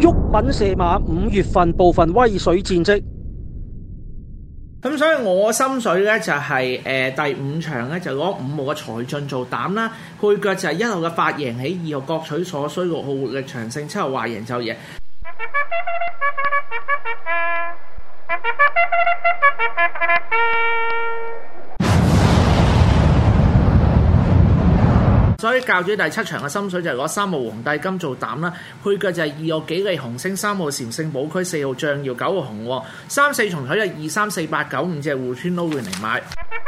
毓民射馬5月份部分威水戰績。 咁所以我心水咧就係、第5場咧就攞5號嘅財進做膽啦，配腳就係1號嘅發贏起，2號各取所需，6號活力長勝，7號話贏就贏。所以教主第7場嘅心水就係攞3號皇帝金做膽啦，配腳就係2號幾利紅星，3號禪聖寶區，4號象耀，9號紅喎，3、4重彩就2、3、4、8、9、5隻互村撈亂嚟買。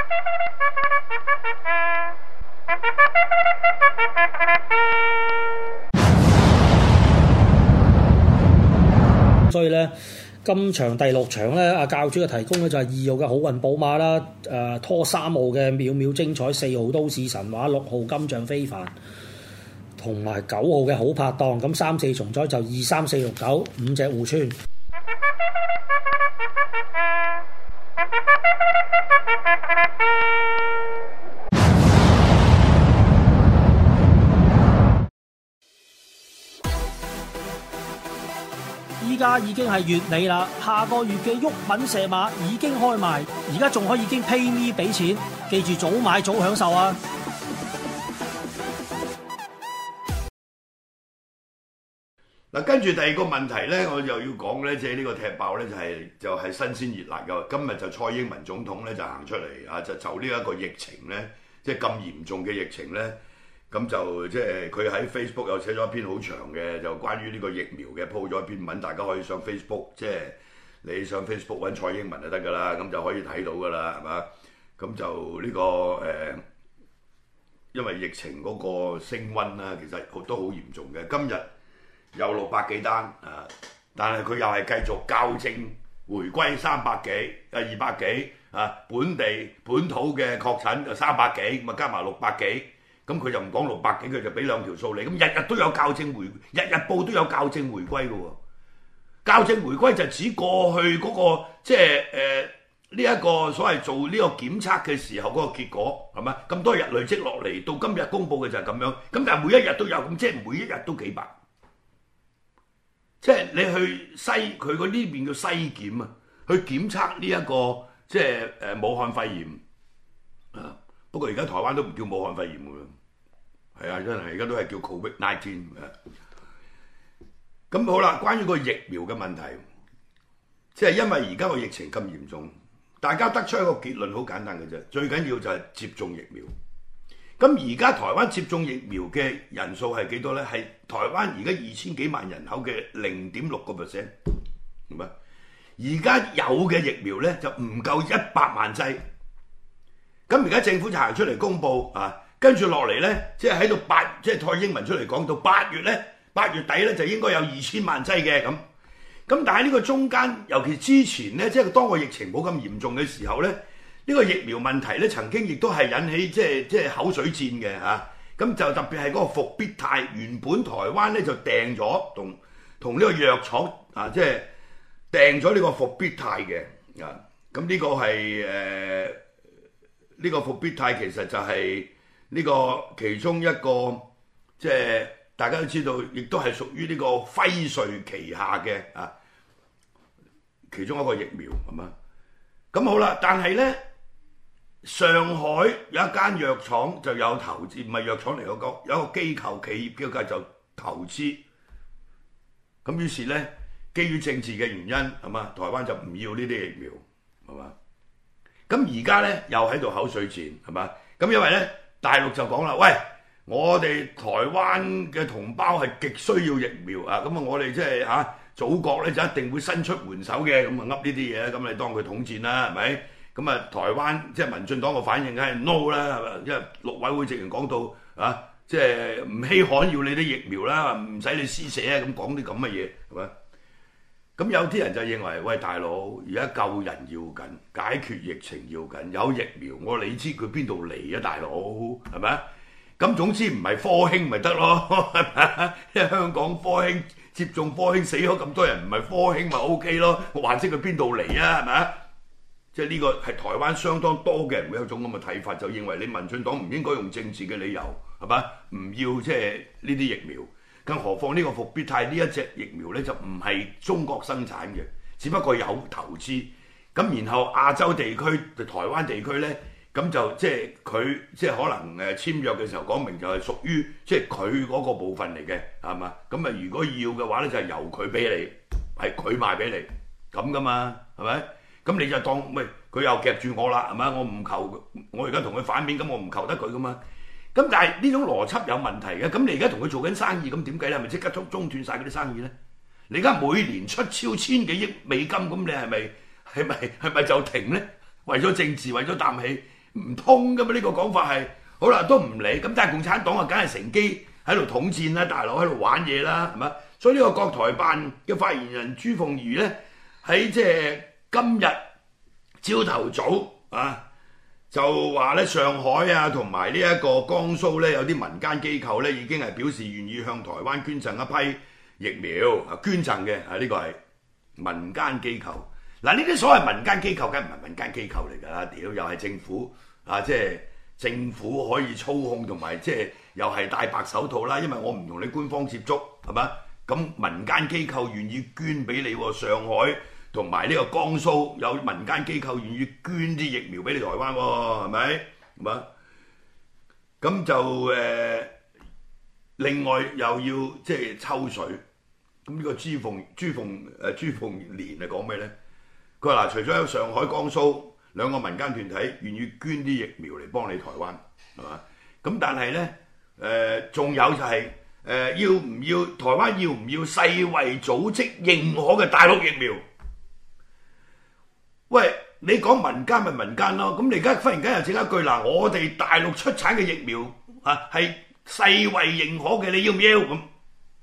所以咧，今場第6場咧，阿教主嘅提供咧就係2號嘅好運寶馬啦，拖3號嘅秒秒精彩，4號都市神話，6號金像非凡，同埋9號嘅好拍檔。咁3、4重彩就2、3、4、6、9 5隻互村。依家已經係月尾啦，下個月嘅毓民射馬已經開賣，而家仲可以經 PayMe 俾錢，記住早買早享受啊！ 嗱，跟住第二個問題咧，我又要講咧，即係呢個踢爆咧就係新鮮熱辣嘅。今日就蔡英文總統咧就行出嚟啊，就呢一個疫情咧，即係咁嚴重嘅疫情咧。咁就即係佢喺 Facebook 又寫咗一篇好長嘅，就關於呢個疫苗嘅 po 咗一篇文，大家可以上 Facebook， 即係你上 Facebook 揾蔡英文就得㗎啦，咁就可以睇到㗎啦，係嘛？咁就呢個因為疫情嗰個升溫啦，其實都好嚴重嘅。今日有600幾單啊，但係佢又係繼續校正回歸300幾200幾啊，本土嘅確診就300幾，咁啊加埋600幾。咁佢就唔講600幾，佢就俾2條數你。咁日日都有校正日日報都有校正回歸嘅喎。校正回歸就指過去嗰個即係呢一個所謂做呢個檢測嘅時候嗰個結果係咪？咁多日累積落嚟，到今日公佈嘅就係咁樣。咁但係每一日都有，咁即係每一日都幾百。即係你去西佢嗰呢邊叫西檢啊，去檢測呢一個即係武漢肺炎啊。不過而家台灣都唔叫武漢肺炎㗎啦。係啊，真係而家都係叫 COVID-19。咁好啦，關於個疫苗嘅問題，即係因為而家個疫情咁嚴重，大家得出一個結論好簡單嘅啫，最緊要就係接種疫苗。咁而家台灣接種疫苗嘅人數係幾多咧？係台灣而家2000幾萬人口嘅0.6%，係咪？而家有嘅疫苗咧就唔夠100萬劑。咁而家政府就行出嚟公佈啊！跟住落嚟咧，即係喺度即係蔡英文出嚟講到8月底咧就應該有2000萬劑嘅咁。咁但係呢個中間，尤其之前咧，即係當個疫情冇咁嚴重嘅時候咧，呢個疫苗問題咧曾經亦都係引起即係口水戰嘅嚇。咁就特別係嗰個復必泰，原本台灣咧就訂咗同呢個藥廠啊，即係訂咗呢個復必泰嘅啊。咁呢個係呢個復必泰其實就係呢個其中一個，即係大家都知道，亦都係屬於呢個輝瑞旗下嘅啊其中一個疫苗係嘛？咁好啦，但係咧上海有一間藥廠就有投資，唔係藥廠嚟嗰個，有一個機構企業嘅就投資。咁於是咧，基於政治嘅原因係嘛，台灣就唔要呢啲疫苗係嘛？咁而家咧又喺度口水戰係嘛？咁因為咧大陸就講啦，喂，我哋台灣嘅同胞係極需要疫苗啊！咁啊，我哋即係祖國咧就一定會伸出援手嘅，咁啊噏呢啲嘢，咁你當佢統戰啦，係咪？咁啊，台灣即係民進黨嘅反應梗係 no 啦，係咪？因為陸委會直情講到啊，即係唔稀罕要你啲疫苗啦，唔使你施捨啊，咁講啲咁嘅嘢係咪？咁有啲人就認為，喂，大佬，而家救人要緊，解決疫情要緊，有疫苗，我你知佢邊度嚟啊，大佬係咪？咁總之唔係科興咪得咯，係咪？因為香港科興接種科興死咗咁多人，唔係科興咪 OK 咯？我還識佢邊度嚟啊？係咪？即係呢個係台灣相當多嘅人會有種咁嘅睇法，就認為你民進黨唔應該用政治嘅理由係咪？唔要即係呢啲疫苗。 更何況呢個復必泰呢一隻疫苗咧就唔係中國生產嘅，只不過有投資。咁然後亞洲地區、台灣地區咧，咁就即係佢即係可能簽約嘅時候講明就係屬於即係佢嗰個部分嚟嘅，係嘛？咁啊如果要嘅話咧，就係由佢俾你，係佢賣俾你咁噶嘛，係咪？咁你就當喂佢又夾住我啦，係咪？我唔求，我而家同佢反面，咁我唔求得佢噶嘛。咁但係呢種邏輯有問題嘅。咁你而家同佢做緊生意，咁點計咧？係咪即刻中斷晒嗰啲生意咧？你而家每年出超千幾億美金，咁你係咪就停咧？為咗政治，為咗啖氣，唔通噶嘛？呢個講法係好啦，都唔理。咁但係共產黨啊，梗係乘機喺度統戰啦，大佬喺度玩嘢啦，係嘛？所以呢個國台辦嘅發言人朱鳳儀咧，喺即係今日朝頭早啊，就話咧上海啊同埋呢一個江蘇咧有啲民間機構咧已經係表示願意向台灣捐贈一批疫苗啊，捐贈嘅啊，呢個係民間機構。嗱，呢啲所謂民間機構梗唔係民間機構嚟㗎啦，屌又係政府啊，即係政府可以操控同埋即係又係戴白手套啦，因為我唔同你官方接觸係嘛，咁民間機構願意捐俾你喎，上海同埋呢個江蘇有民間機構願意捐啲疫苗俾你台灣喎，係咪？係嘛？咁就另外又要即係抽水，咁呢個朱鳳蓮係講咩咧？佢話嗱，除咗有上海、江蘇兩個民間團體願意捐啲疫苗嚟幫你台灣，係嘛？咁但係咧仲有就係要唔要台灣要唔要世衛組織認可嘅大陸疫苗？喂，你講民間咪民間咯，咁你而家忽然間又整一句嗱，我哋大陸出產嘅疫苗啊係世衛認可嘅，你要唔要咁？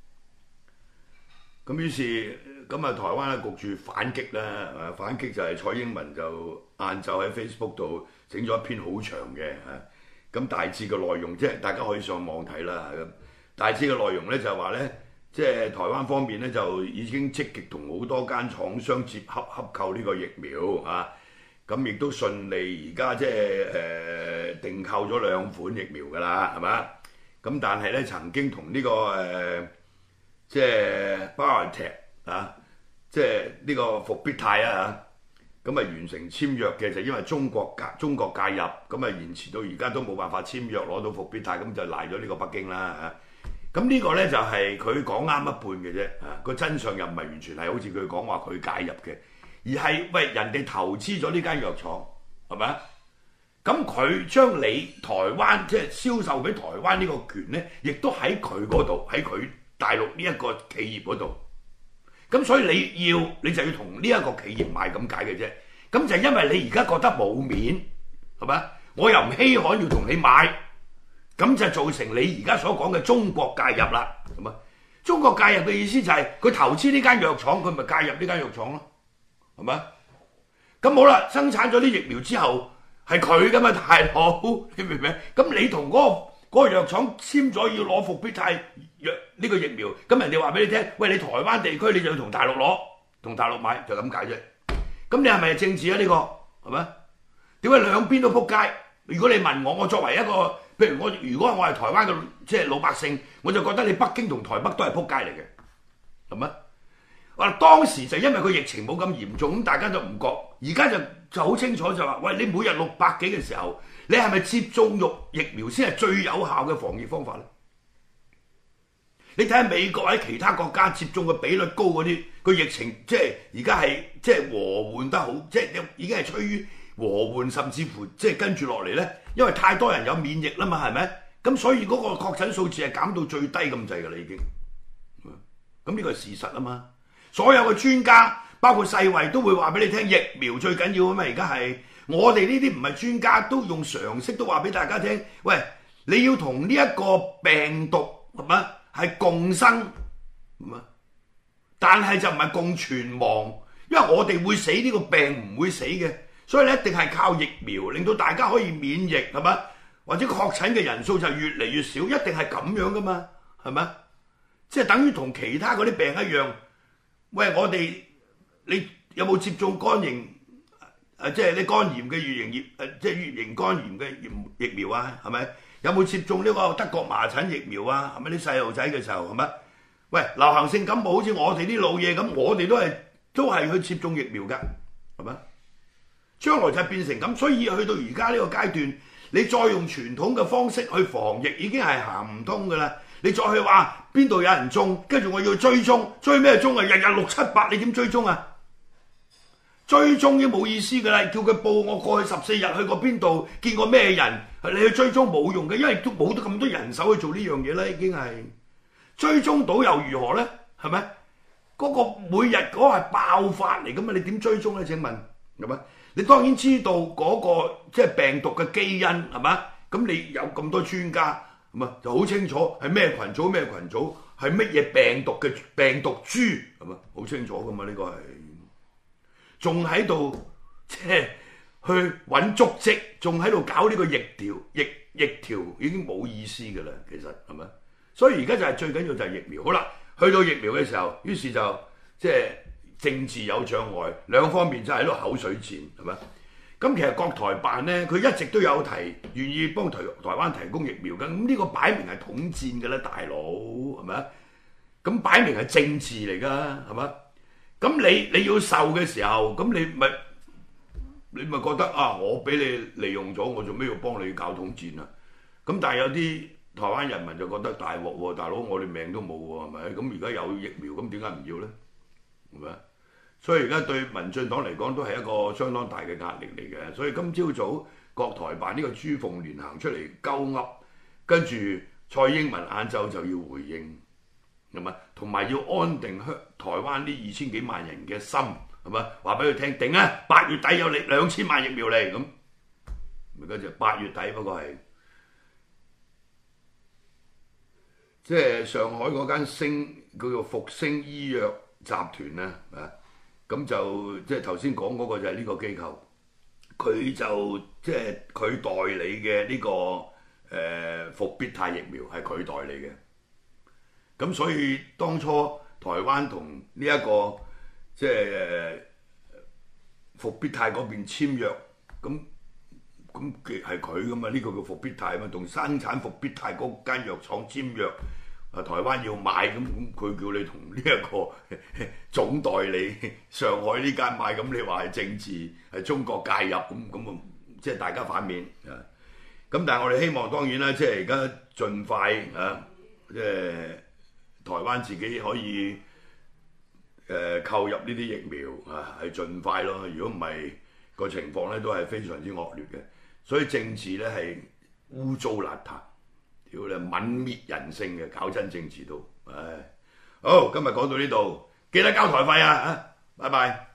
咁於是咁啊，台灣咧焗住反擊啦，反擊就係蔡英文就晏晝喺 Facebook 度整咗一篇好長嘅咁大致嘅內容即係大家可以上網睇啦。咁大致嘅內容咧就係話咧，即係台灣方面咧就已經積極同好多間廠商接洽洽購呢個疫苗啊，咁亦都順利而家即係訂購咗2款疫苗㗎啦，係嘛？咁但係咧曾經同呢個即係 BioNTech 啊，即係呢個復必泰啊，咁啊完成簽約嘅就因為中國介入，咁啊延遲到而家都冇辦法簽約攞到復必泰，咁就賴咗呢個北京啦嚇。咁呢個咧就係佢講啱一半嘅啫，個真相又唔係完全係好似佢講話佢介入嘅，而係喂人哋投資咗呢間藥廠係咪啊？咁佢將你台灣即係銷售俾台灣呢個權咧，亦都喺佢嗰度，喺佢大陸呢一個企業嗰度。咁所以你就要同呢一個企業買咁解嘅啫。咁就因為你而家覺得冇面係咪？我又唔稀罕要同你買，咁就造成你而家所講嘅中國介入啦。係咪？中國介入嘅意思就係佢投資呢間藥廠，佢咪介入呢間藥廠咯？係咪？咁好啦，生產咗啲疫苗之後係佢噶嘛，大佬，你明唔明？咁你同嗰個藥廠簽咗要攞復必泰藥呢個疫苗，咁人哋話俾你聽，喂，你台灣地區你就要同大陸攞，同大陸買，就咁解啫。咁你係咪政治啊？呢個係咪？點解兩邊都撲街？如果你問我，我作為一個，譬如如果我係台灣嘅即係老百姓，我就覺得你北京同台北都係撲街嚟嘅，係咪？話當時就因為個疫情冇咁嚴重，咁大家就唔覺。而家就好清楚就話，喂，你每日600幾嘅時候，你係咪接種疫苗先係最有效嘅防疫方法咧？你睇下美國喺其他國家接種嘅比率高嗰啲，個疫情即係而家係即係和緩得好，即係已經係趨於和緩，甚至乎即係跟住落嚟咧，因為太多人有免疫啦嘛，係咪？咁所以嗰個確診數字係減到最低咁滯㗎啦，已經。咁呢個係事實啊嘛。所有嘅專家，包括世衛都會話俾你聽，疫苗最緊要啊嘛！而家係我哋呢啲唔係專家，都用常識都話俾大家聽。喂，你要同呢一個病毒係咪係共生，係咪？但係就唔係共存亡，因為我哋會死，呢個病唔會死嘅，所以你一定係靠疫苗令到大家可以免疫，係咪？或者確診嘅人數就越嚟越少，一定係咁樣噶嘛，係咪？即係等於同其他嗰啲病一樣。喂，你有冇接種肝炎？即係你肝炎嘅乙型即係乙型肝炎嘅疫苗啊？係咪？有冇接種呢個德國麻疹疫苗啊？係咪啲細路仔嘅時候係咪？ 喂，流行性感冒好似我哋啲老嘢咁，我哋都係去接種疫苗㗎，係咪？將來就變成咁，所以去到而家呢個階段，你再用傳統嘅方式去防疫已經係行唔通㗎啦。你再去話邊度有人中，跟住我要追蹤，追咩蹤啊？日日6、7、8，你點追蹤啊？追蹤已經冇意思㗎啦，叫佢報我過去14日去過邊度，見過咩人，你去追蹤冇用嘅，因為都冇得咁多人手去做呢樣嘢啦，已經係追蹤到又如何咧？係咪？嗰個每日嗰個係爆發嚟㗎嘛？你點追蹤咧？請問係咪？你當然知道嗰個即係病毒嘅基因係嘛？咁你有咁多專家係嘛？就好清楚係咩群組咩群組，係乜嘢病毒嘅病毒株係嘛？好清楚㗎嘛？呢個係。仲喺度即係去揾足跡，仲喺度搞呢個疫調已經冇意思㗎啦，其實係咪？所以而家就係最緊要就係疫苗。好啦，去到疫苗嘅時候，於是就即係政治有障礙，兩方面就喺度口水戰，係咪？咁其實國台辦咧，佢一直都有願意幫台灣提供疫苗㗎。咁呢個擺明係統戰㗎啦，大佬係咪啊？咁擺明係政治嚟㗎，係咪？咁你要受嘅時候，咁你咪覺得啊，我俾你利用咗，我做咩要幫你搞統戰啊？咁但係有啲台灣人民就覺得大鑊喎，大佬我哋命都冇喎，係咪？咁而家有疫苗，咁點解唔要咧？係咪？所以而家對民進黨嚟講都係一個相當大嘅壓力嚟嘅。所以今朝早國台辦呢個朱鳳蓮行出嚟鳩噏，跟住蔡英文晏晝就要回應。係咪？同埋要安定台灣呢2000幾萬人嘅心，係咪？話俾佢聽，定啊！8月底有2000萬疫苗嚟咁，而家就8月底，不過係即係上海嗰間叫做復星醫藥集團咧，啊咁就即係頭先講嗰個就係呢個機構，佢就即係佢代理嘅呢個復必泰疫苗係佢代理嘅。咁所以當初台灣同呢一個即係復必泰嗰邊簽約，咁係佢噶嘛？呢個叫復必泰啊嘛，同生產復必泰嗰間藥廠簽約，台灣要買，咁佢叫你同呢一個總代理上海呢間買，咁你話係政治係中國介入，咁啊即係大家反面啊！咁但係我哋希望當然啦，即係而家盡快啊，即係。台灣自己可以購入呢啲疫苗啊，係盡快咯。如果唔係個情況咧，都係非常之惡劣嘅。所以政治咧係污糟邋遢，屌你泯滅人性嘅，搞真政治都，唉。好，今日講到呢度，記得交台費啊！拜拜。